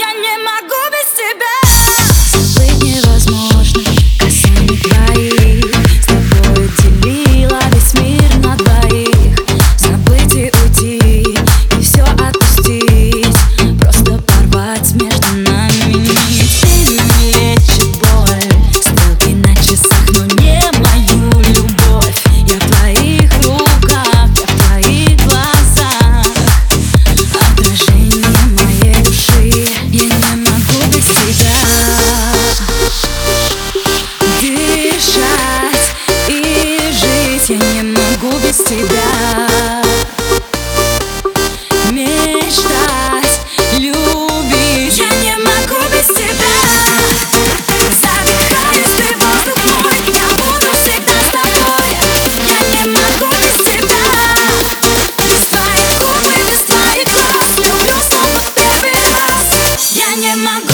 Я не могу без тебя. Забыть невозможно касаний твоих. С тобой делила весь мир на двоих. Забыть и уйти, и все отпустить. Просто порвать между нами нить. Ты не лечит боль, стрелки на часах, но не мою любовь. Я в твоих руках, я в твоих глазах. Отражение моей души. Я не могу без тебя дышать и жить. Я не могу без тебя мечтать, любить. Я не могу без тебя. Задыхаюсь, ты воздух мой. Я буду всегда с тобой. Я не могу без тебя. Без твоих губ и без твоих глаз. Люблю снова в первый раз. Я не могу.